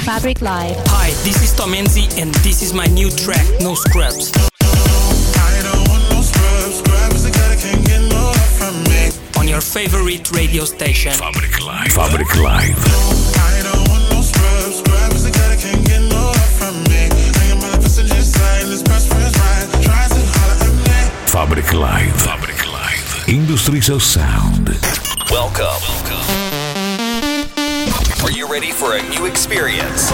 Fabric Live. Hi, this is Tom Enzi and this is my new track, No Scrubs. I don't want no scrubs. Scrubs the guy that can't get no love from me. On your favorite radio station. Fabric Live. Fabric Live. I don't want no scrubs. Scrubs the guy that can't get no love from me. I am on the passenger side. This best friend's ride. Tries to holler at me. Fabric Live. Fabric Live. Industries of Sound. Welcome. Are you ready for a new experience?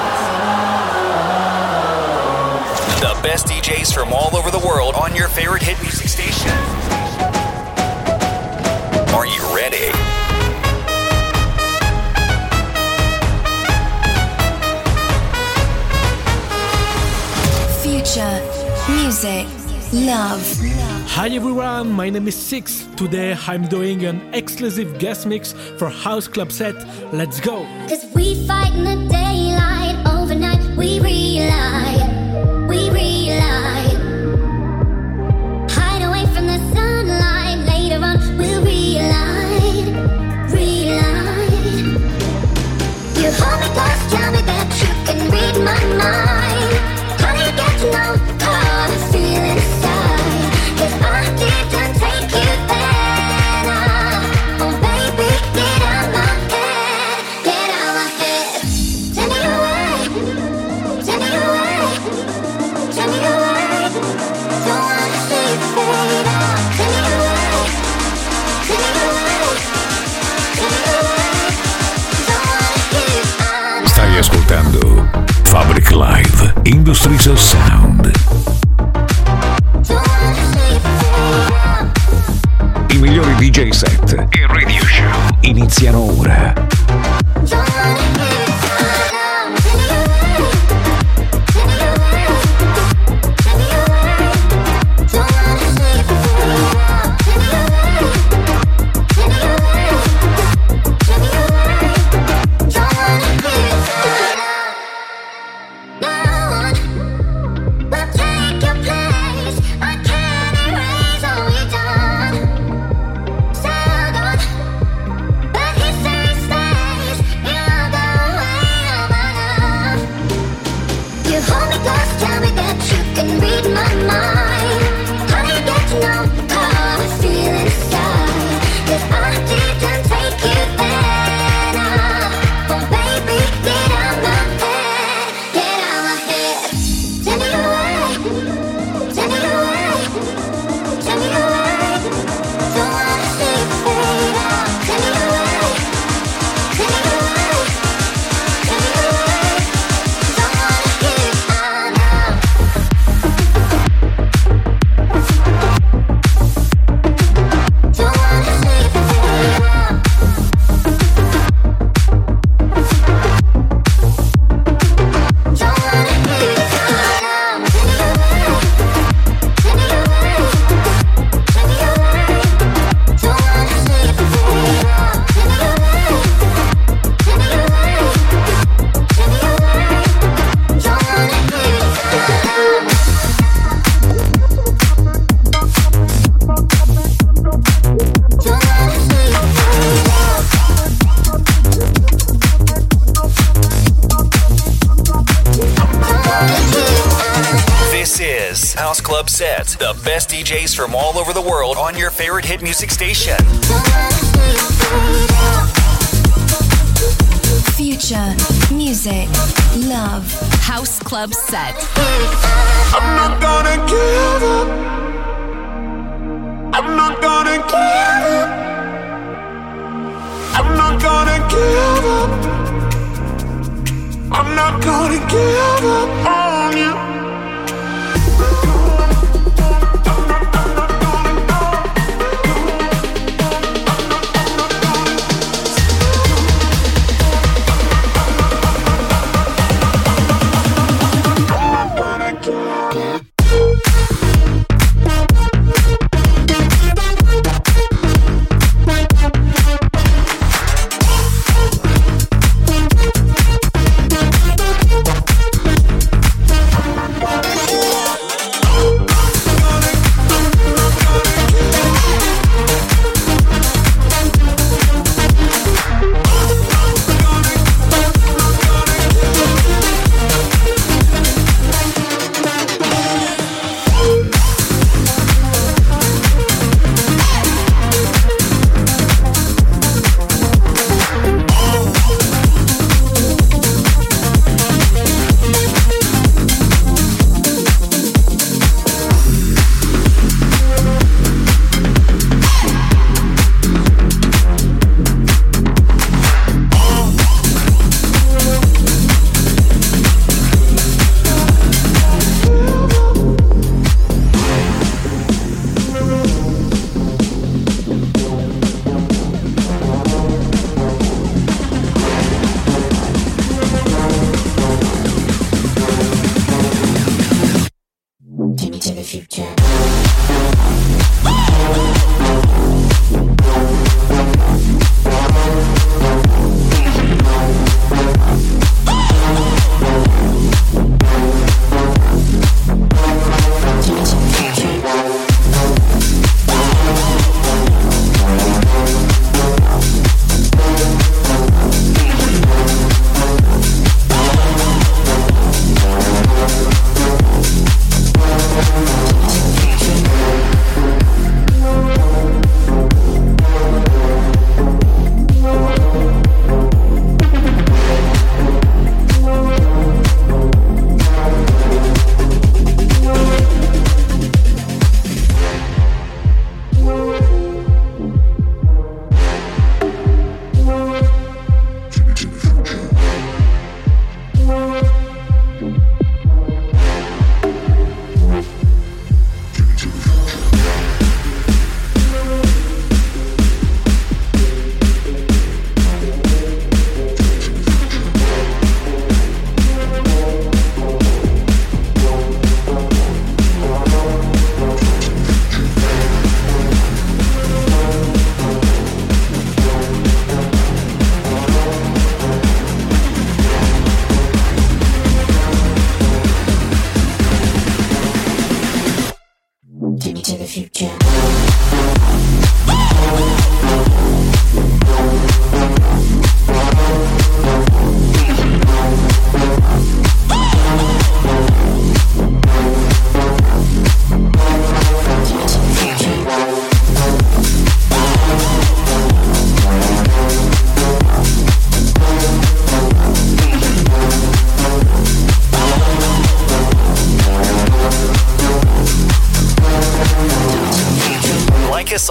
The best DJs from all over the world on your favorite hit music station. Are you ready? Future, music, love. Hi everyone, my name is Six. Today I'm doing an exclusive guest mix for House Club Set. Let's go! 'Cause we fight in the daylight, overnight we relight. Hide away from the sunlight, later on we'll relight. You hold me close, tell me that you can read my mind. How do you get to know how I feel inside? 'Cause I didn't take you there now. Oh baby, get out my head, get out my head. Take me away, take me away, take me away. Don't wanna see you fade out. Take me away, take me away, take me away. Don't wanna hear you out. Stai ascoltando Fabric Live. Industries of Sound. I migliori DJ set e radio show iniziano ora. House Club Set, the best DJs from all over the world on your favorite hit music station. Future, music, love. House Club Set. I'm not gonna give up. I'm not gonna give up. I'm not gonna give up. I'm not gonna give up on you.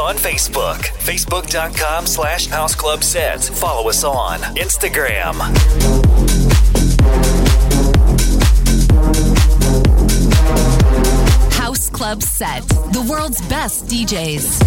on Facebook. Facebook.com/houseclubsets. Follow us on Instagram. House Club Set, the world's best DJs.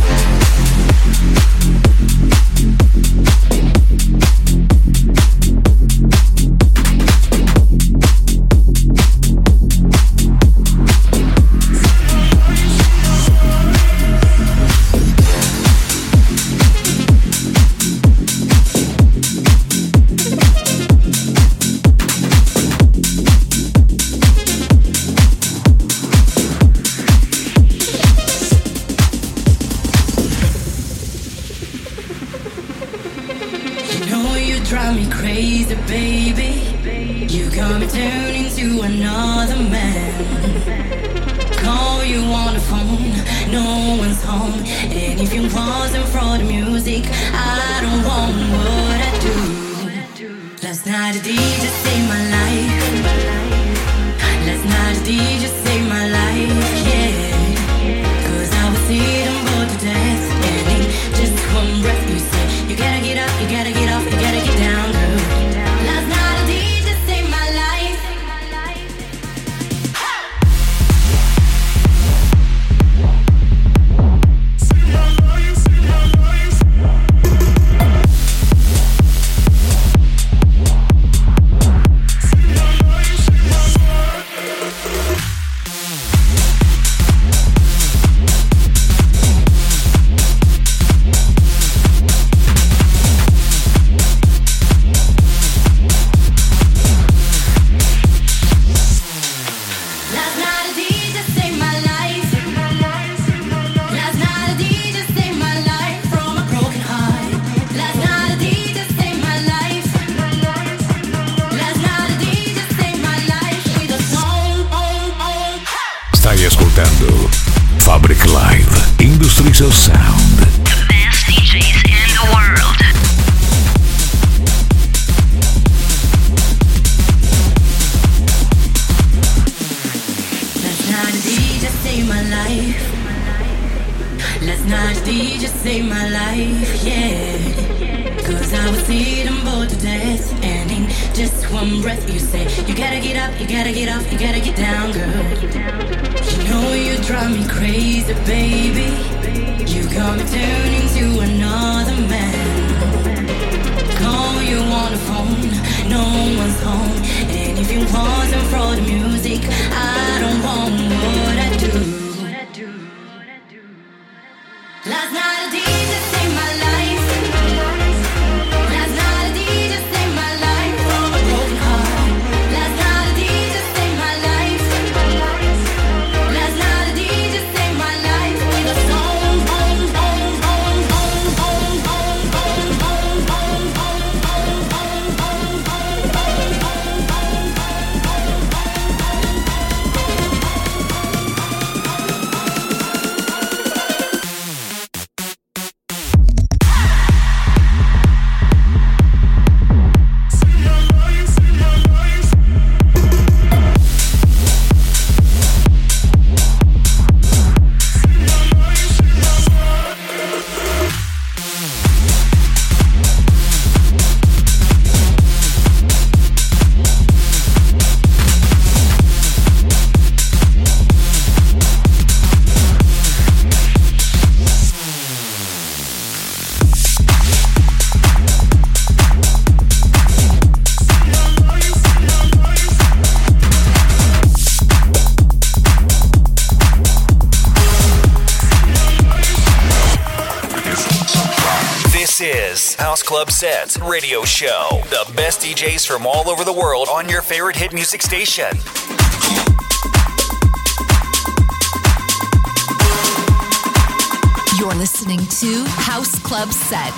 Drive me crazy, baby. You got me turning to another man. Call you on the phone, no one's home. And if you wasn't for the music, I don't want what I do. Last night the DJ saved my life. Last night the DJ saved my life, yeah. Cause I was sitting bored to death. And in just one breath you say, you gotta get up, you gotta get off, you gotta get down, girl. Last night a DJ saved my life. Stai ascoltando Fabric Live Industries of Sound. The best DJs in the world. Last night a DJ saved my life. Last night a DJ saved my life, yeah. Cause I was sitting bored to death. And in just one breath you say, you gotta get up, you gotta get off, you gotta get down, girl. You know you drive me crazy, baby. You got me turning to another man. Call you on the phone, no one's home. And if it wasn't for the music, I don't want what I do. Last night a DJ saved my life. Last night a DJ saved my life from a broken heart. Last night a DJ saved my life. Last night a DJ saved my life with a song. House Club Sets Radio Show. The best DJs from all over the world on your favorite hit music station. You're listening to House Club Set.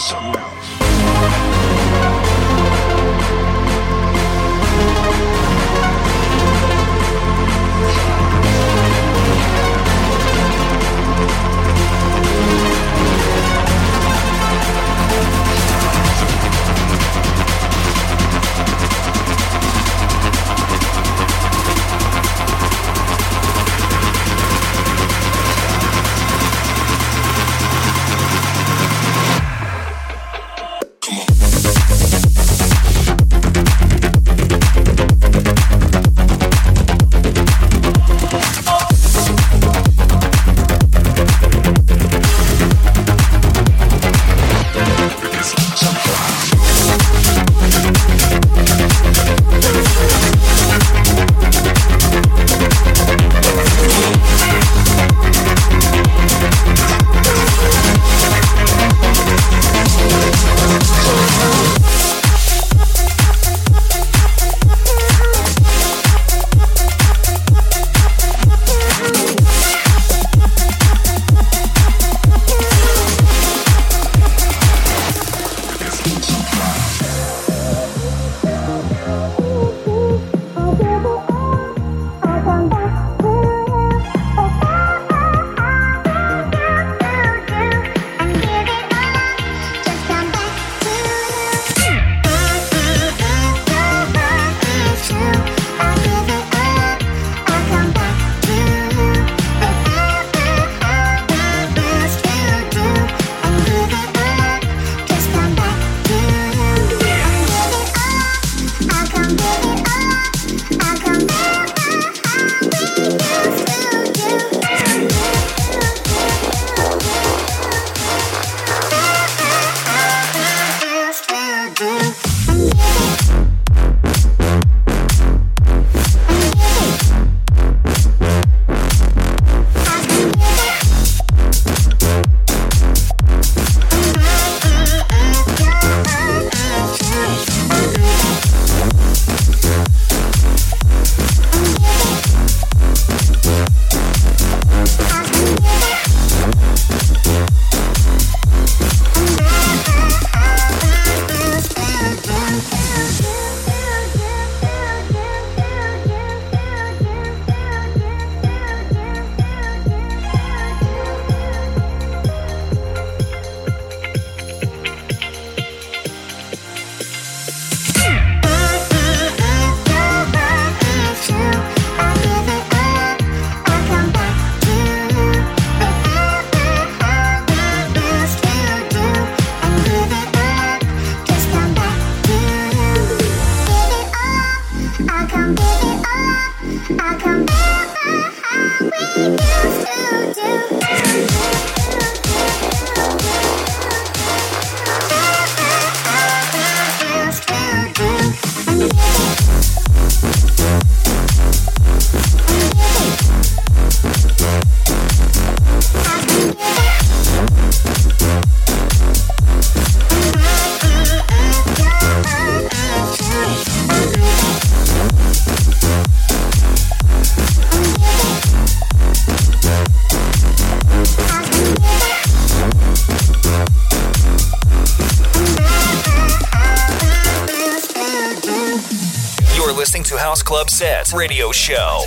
listening to House Club Set Radio Show.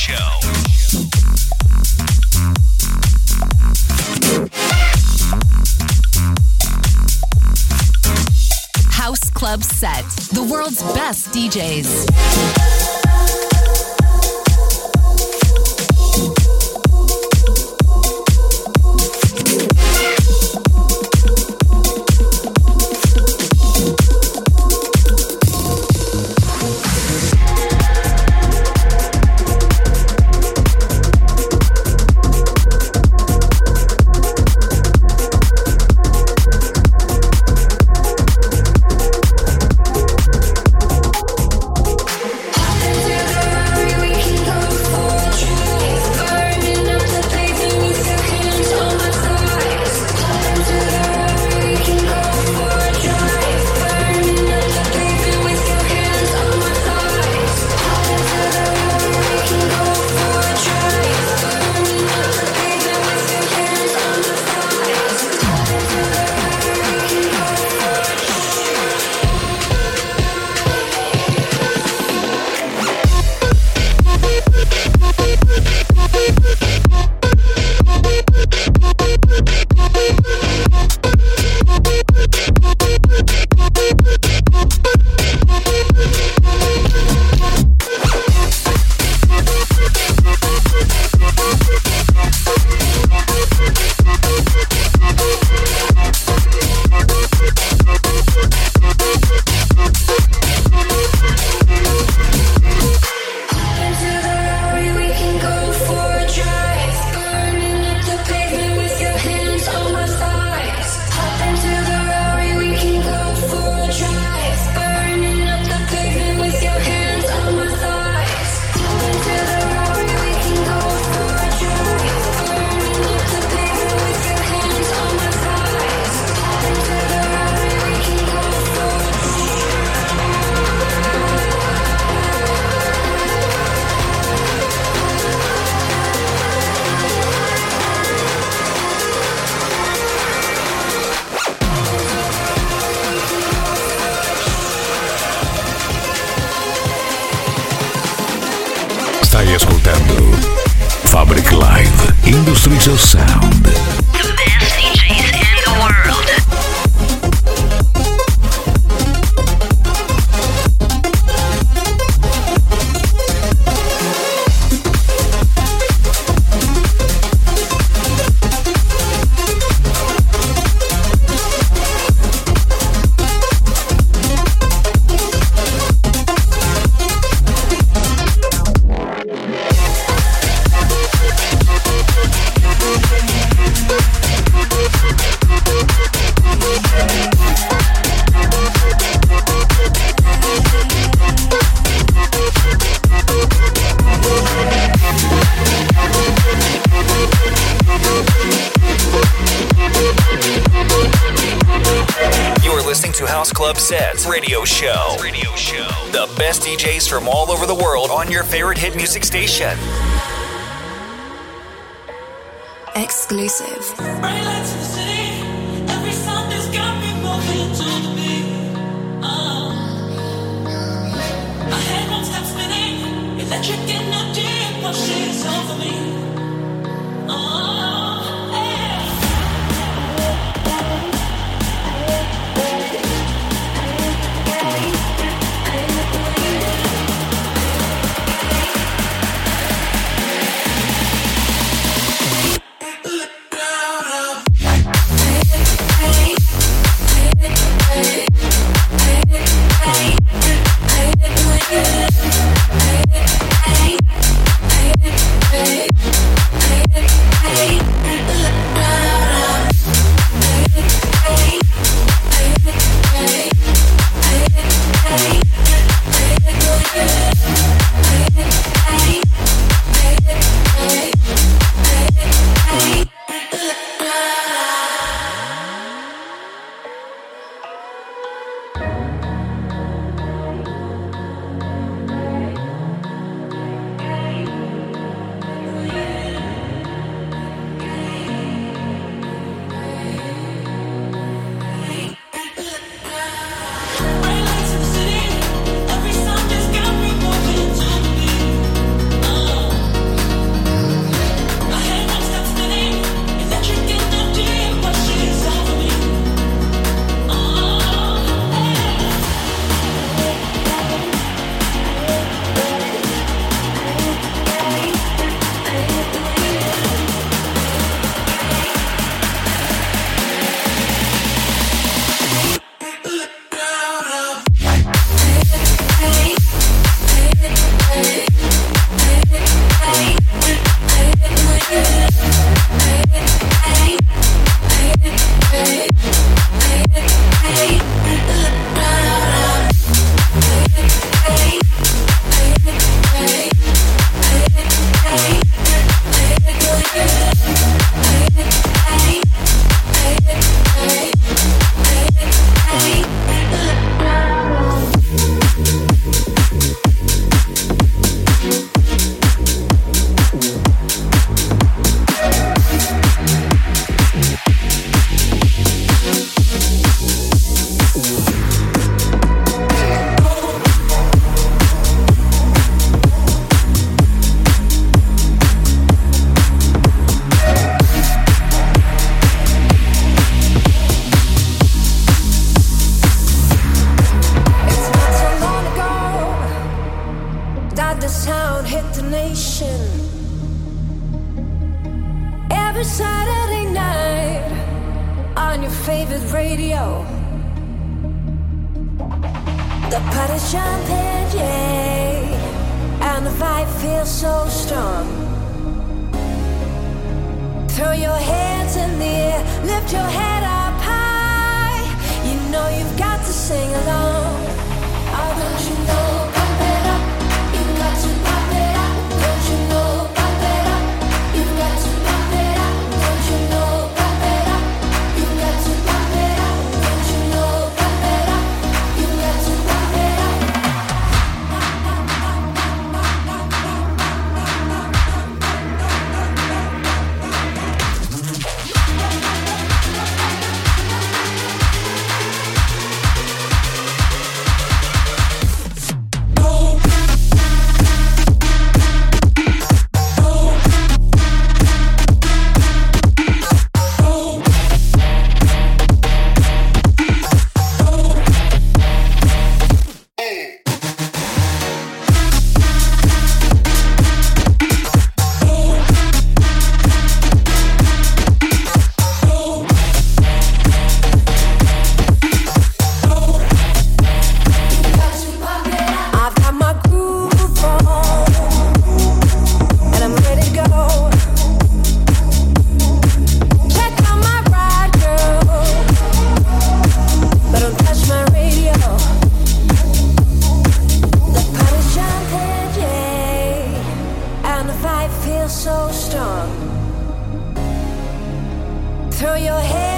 House Club Set, the world's best DJs. Calypso Sound. The best DJs in the world. House Club Sets Radio Show. The best DJs from all over the world on your favorite hit music station. Exclusive. Bright lights in the city. Every sound has got me moving to the beat. My head won't stop spinning. Electric energy washes over me.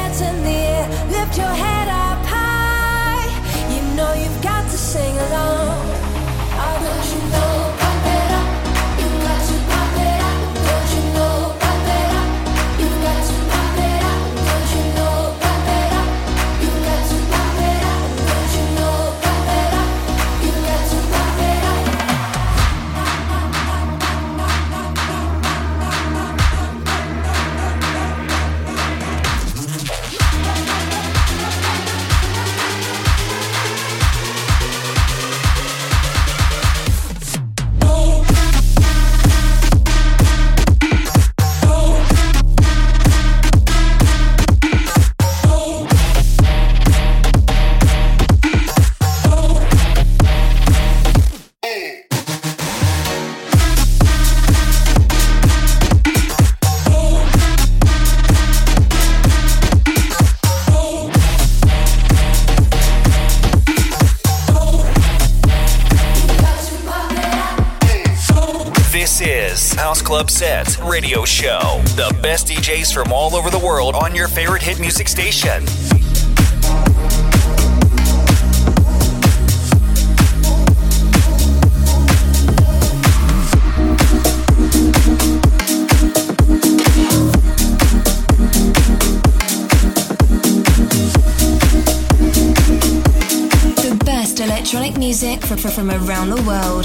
hands in the air, lift your head up high. You know you've got to sing along. Oh, don't you know? Pump it up. You've got to pump it up. Don't you know? Pump it up. You've got to pump it up. Don't you know? Pump it up. You've got to pump it up. Don't you know? Pump it up. You've got to pump it up. This is House Club Set Radio Show. The best DJs from all over the world on your favorite hit music station. The best electronic music from around the world.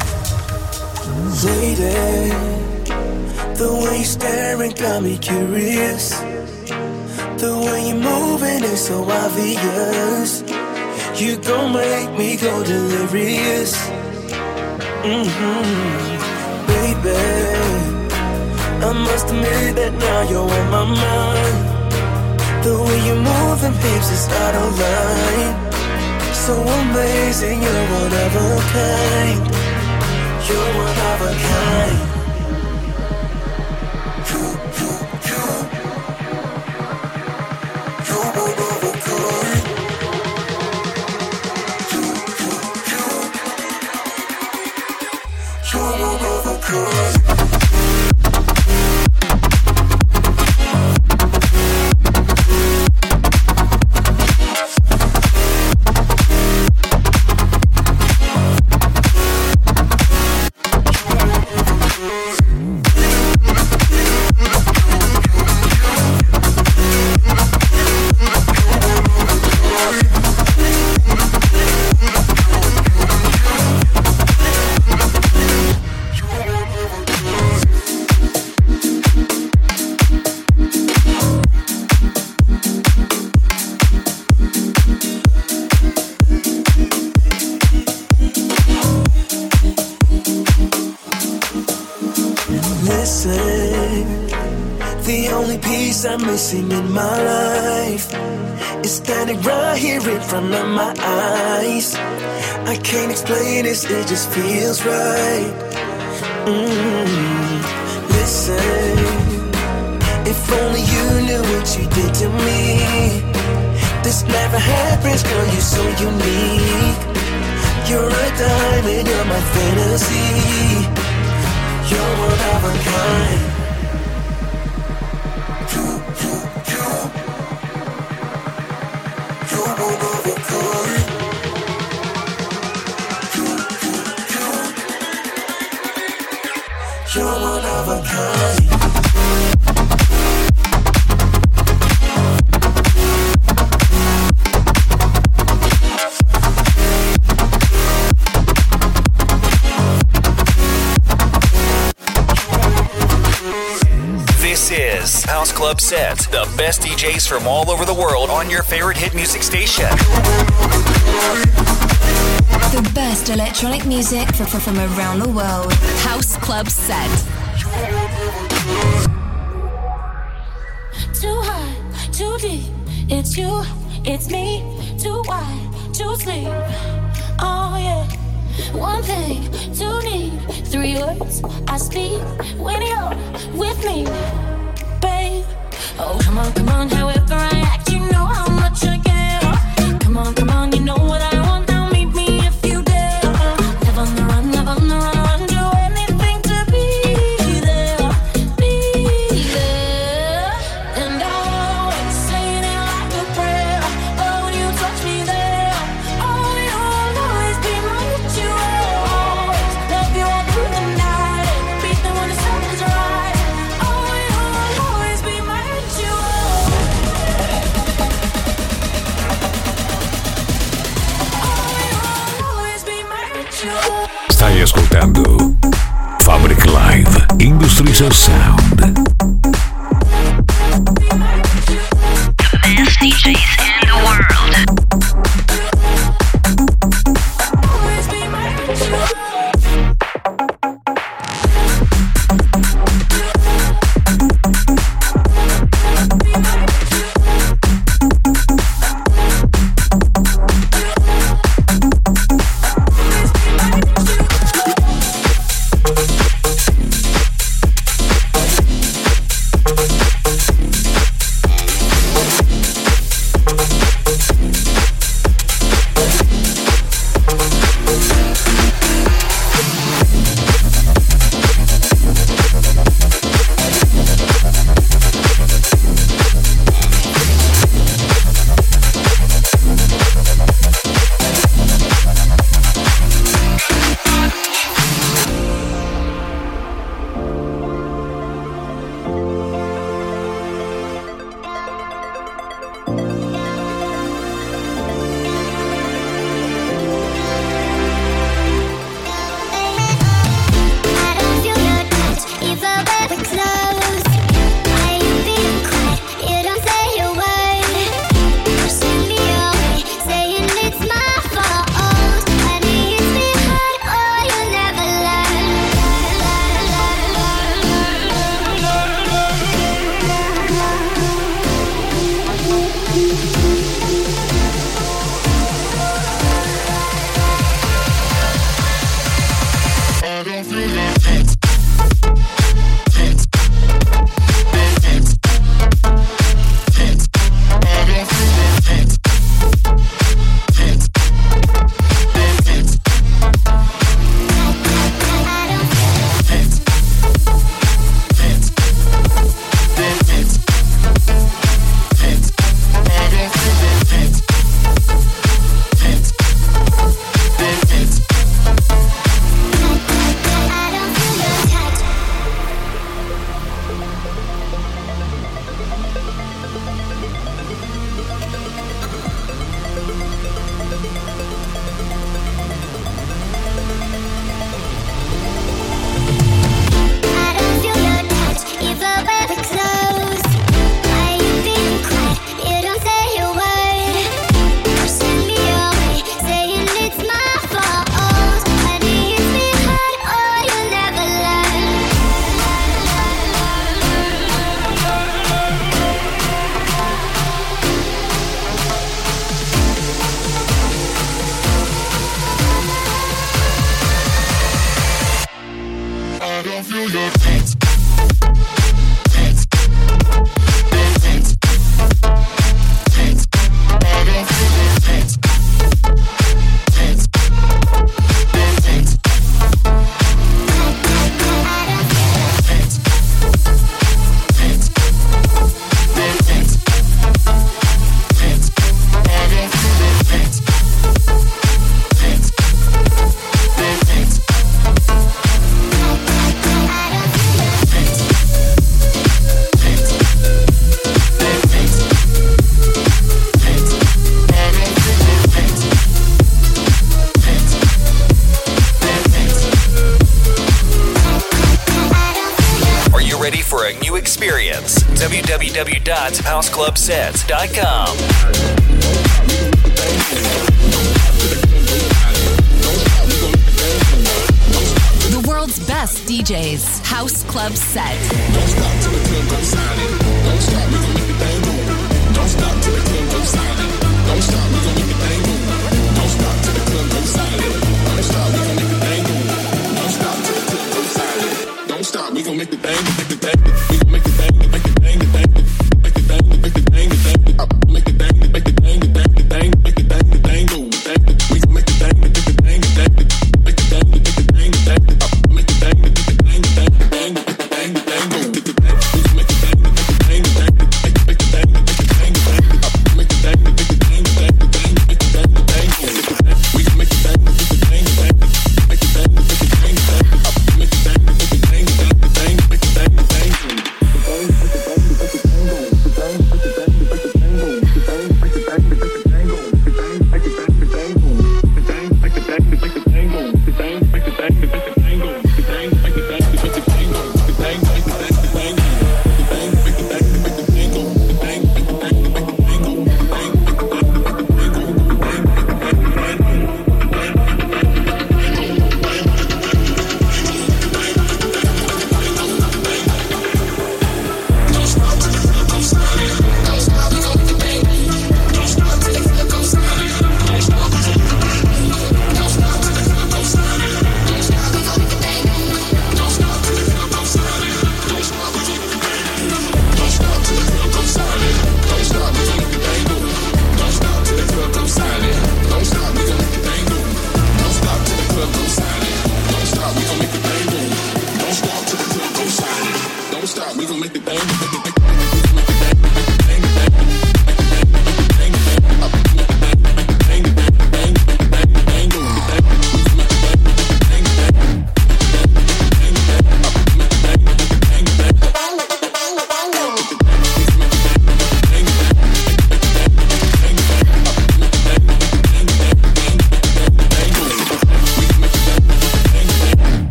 Lady, the way you're staring got me curious. The way you're moving is so obvious. You gon' make me go delirious. Baby, I must admit that now you're on my mind. The way you're moving, babes, is out of line. So amazing, you're one of a kind. You're one of a kind. You're one of a kind. You're one of a kind. The only piece I'm missing in my life is standing right here in front of my eyes. I can't explain this, it just feels right. Listen, if only you knew what you did to me. This never happens, girl, you're so unique. You're a diamond, you're my fantasy. You're one of a kind. You're one of a kind. This is House Club Set, the best DJs from all over the world on your favorite hit music station. The best electronic music from around the world. House Club Set. Too high, too deep. It's you, it's me. Too wide, too sleep. Oh yeah. One thing, two need. Three words I speak when you're with me, babe. Oh come on, however I act, you know how much I care. Come on, you know what I want. Now meet me if you dare. Live on the run, do anything to be there. And I'll always say that ascoltando Fabric Live Industries of Sound. The best DJs in the world. www.houseclubsets.com. The world's best DJs, House Club Set. Don't stop till the club goes silent. Don't stop, we gon' make the thing move. Don't stop till the club goes silent. Don't stop, we gon' make the thing move. Don't stop till the club goes silent. Don't stop, we gon' make the thing move. Don't stop till the club goes silent. Don't stop, we gon' make the thing, make the thing, we gon' make the thing, make the thing, the thing, make the thing, make the thing, the thing, make the thing, make the thing, the thing, the thing, make the thing, the thing go, the thing, we gon' make the thing, make the thing, the thing, make the thing, make the thing, the thing, make the thing, make the thing, the thing, make the thing, the thing go, the thing, we gon' make the thing, make the thing, the thing, make the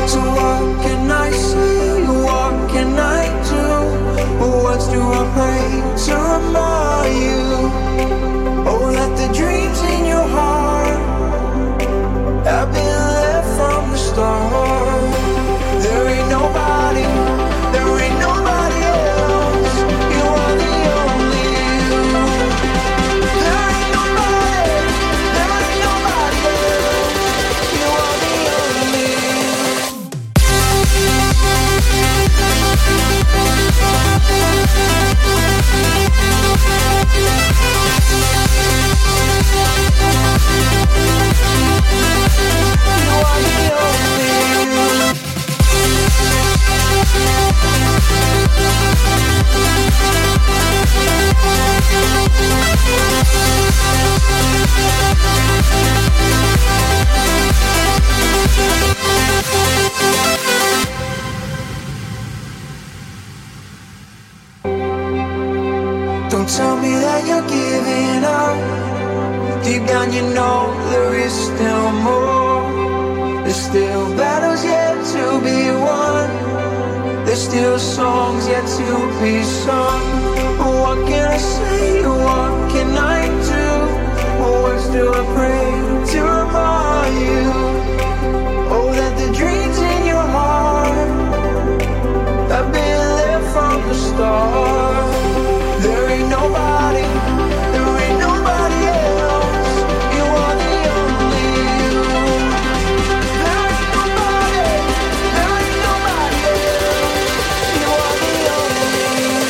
So what can I say? What can I do? What words do I pray to remind you? Oh, that the dreams in your heart have been there from the start. There ain't nobody else. You are the only you. There ain't nobody else. You are the only Don't tell me that you're giving up. Deep down you know there is still more. There's still battles yet to be won. There's still songs yet to be sung. What can I say? What can I do? What words do I pray to remind you? Oh, that the dreams in your heart have been there from the start. There ain't nobody else. You are the only you. There ain't nobody else. You are the only you.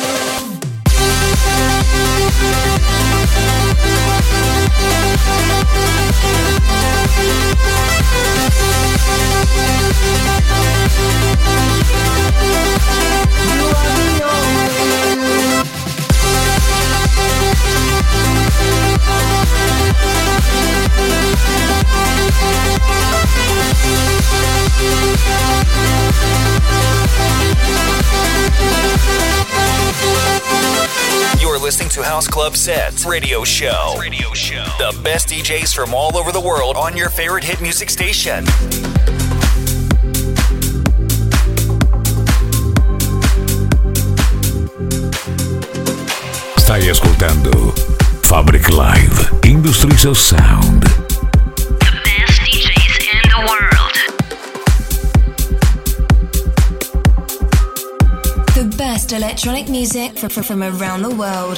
You're listening to House Club Set Radio Show. The best DJs from all over the world on your favorite hit music station. Stai ascoltando Fabric Live Industries of Sound. The best DJs in the world. The best electronic music from around the world.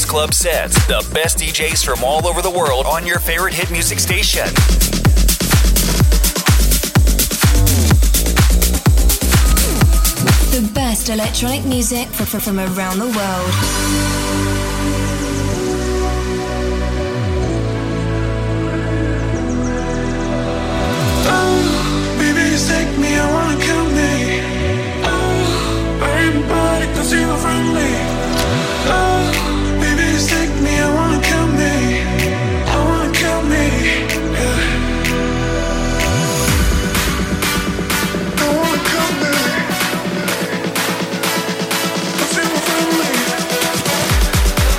Club Set, the best DJs from all over the world on your favorite hit music station. The best electronic music from around the world. Take me, I wanna kill me. Oh, everybody can see you from me. Oh, baby, just take me, I wanna kill me. I wanna kill me, yeah. I wanna kill me. Don't see you from me.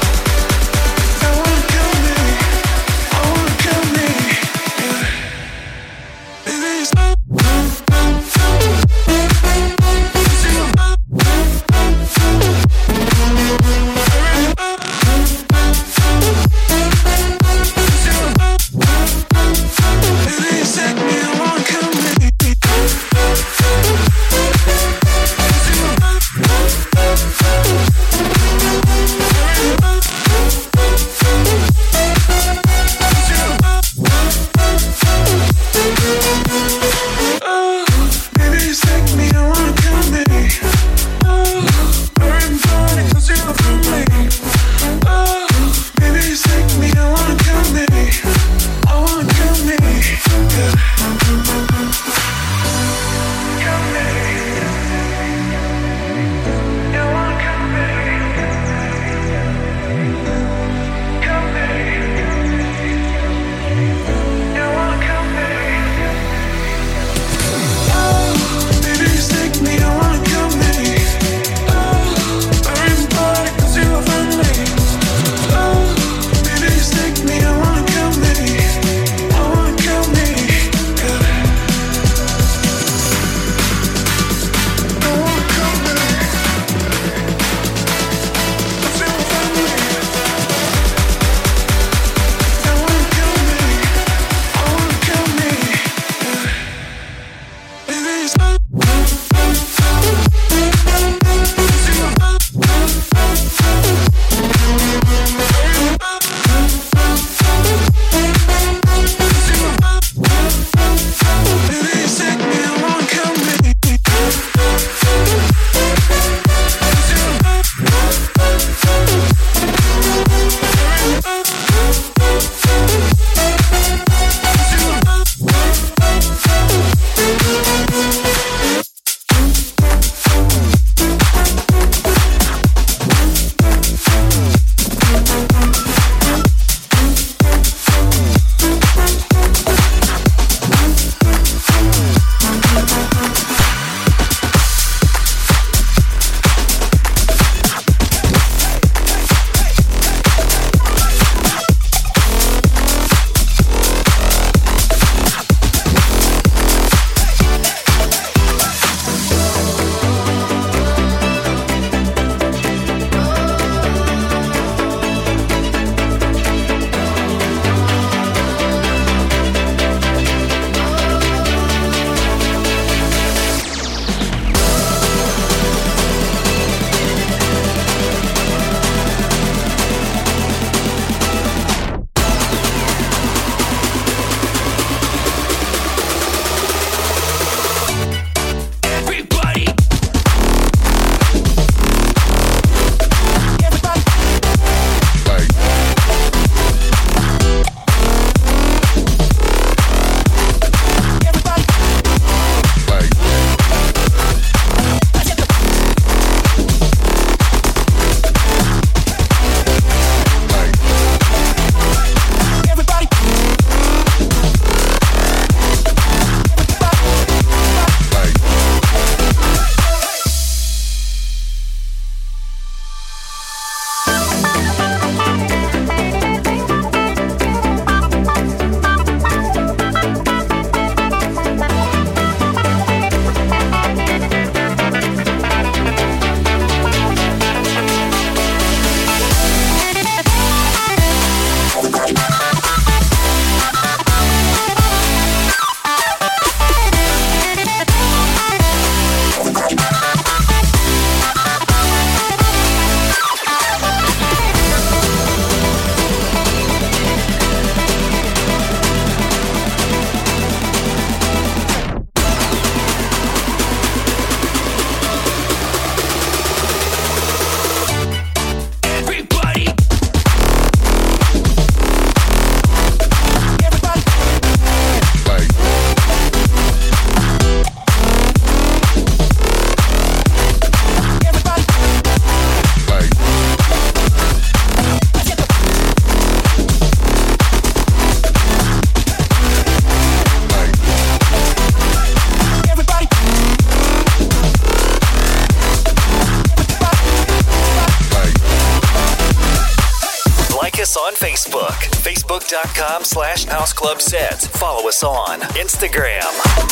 Facebook, facebook.com/houseclubset. Follow us on Instagram.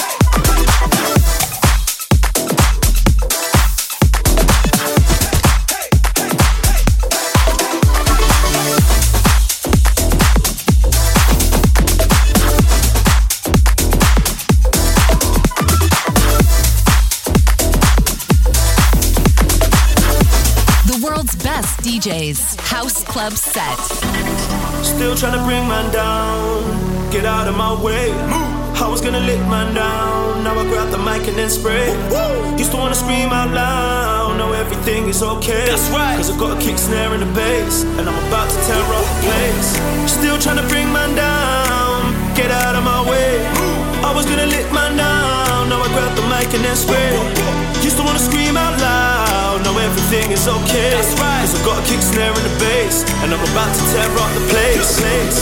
Best DJs, House Club Set. Still trying to bring man down, get out of my way. I was gonna lick man down, now I grab the mic and then spray. Used to wanna scream out loud, now everything is okay. That's right, cause I got a kick snare in the bass, and I'm about to tear up the place. Still trying to bring man down, get out of my way. I was gonna lick man down, now I grab the mic and then spray. Used to wanna scream out loud, now everything is okay. That's right, cause I got a kick snare in the bass, and I'm about to tear up the place.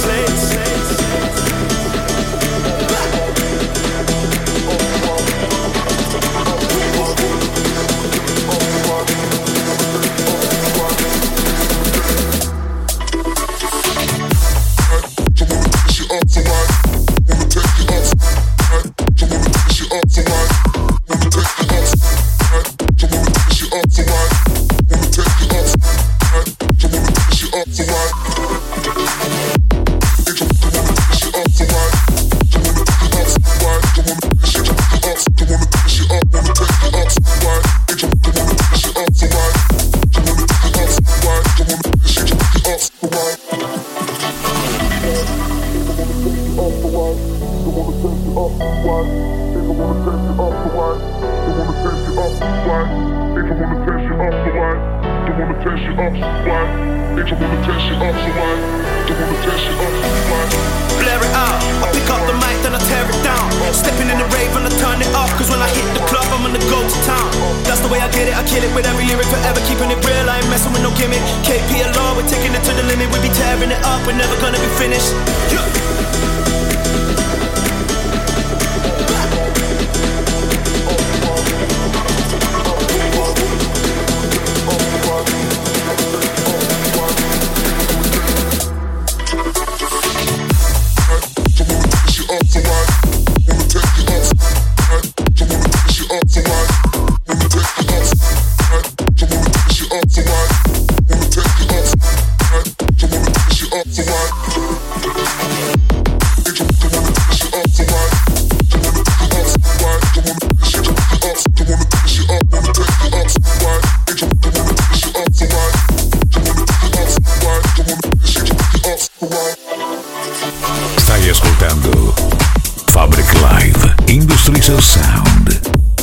Stai ascoltando Fabric Live Industries of Sound.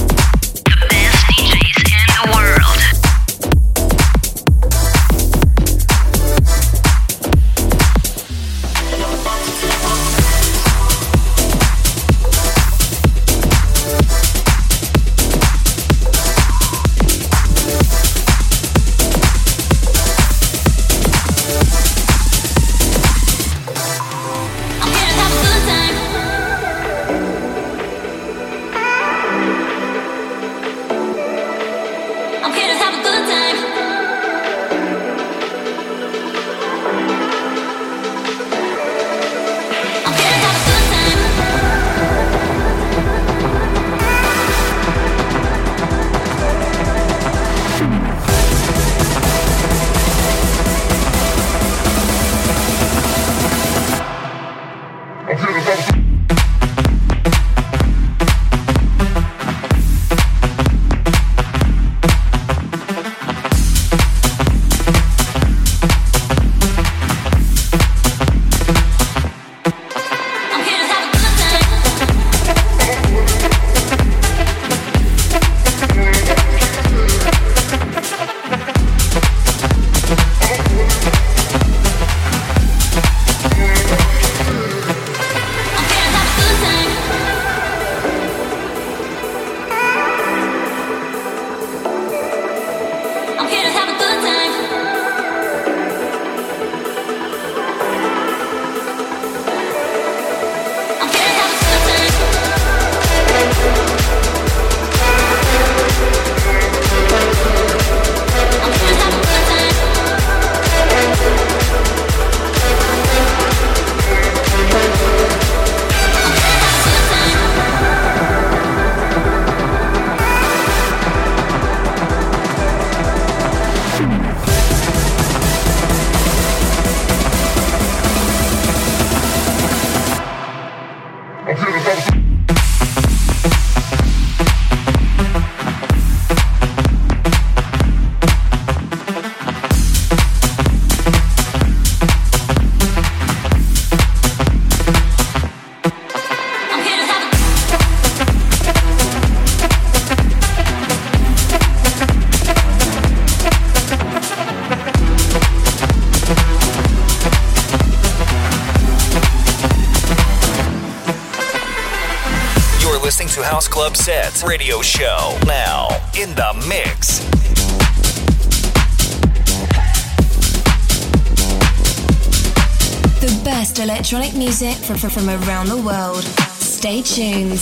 The best DJs in the world. House Club Sets radio show. Now, in the mix. The best electronic music from around the world. Stay tuned.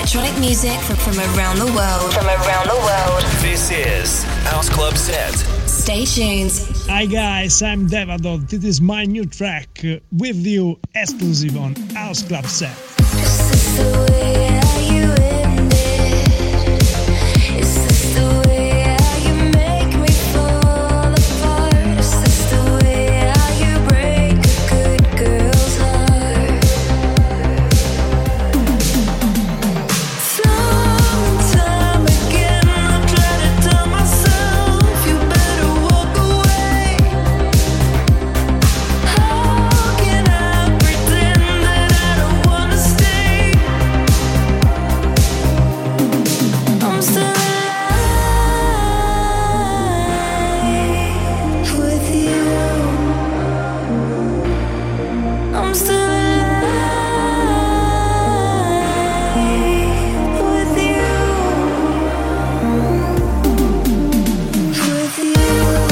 From around the world. This is House Club Set. Stay tuned. Hi guys, I'm Devadot. This is my new track with you, exclusive on House Club Set. This is the way you end it. Is this the way you make me fall apart? Is this the way you break a good girl's heart? Time and time again I try to tell myself you better walk away. How can I pretend that I don't wanna stay? I'm still alive with you. I'm still alive with you. With you.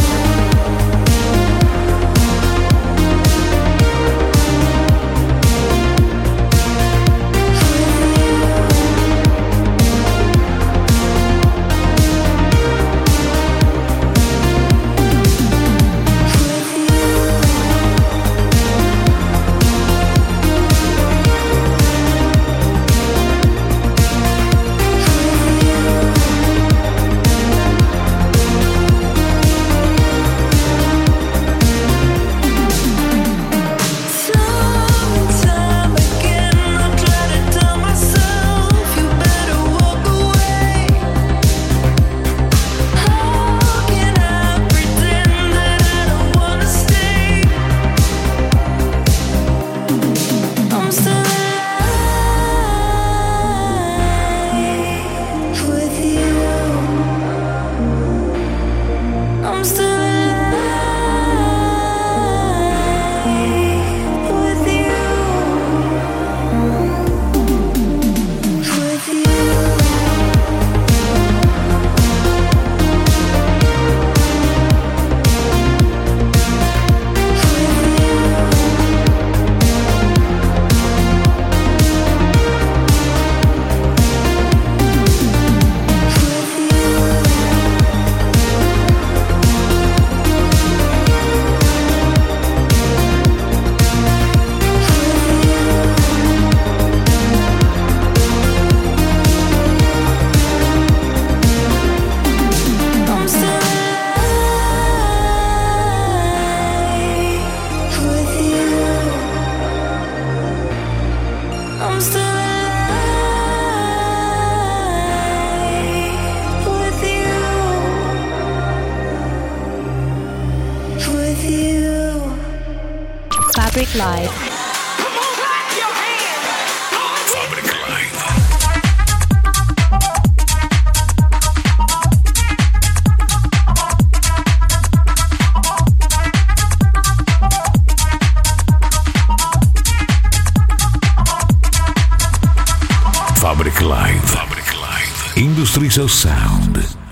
Time and time again I try to tell myself you better walk away. How can I pretend that I don't wanna stay? I'm still alive with you. I'm still alive with you. With you. I'm still alive with you. I'm still alive with you. With you. Fabric Live. Fabric Live. Industries of Sound.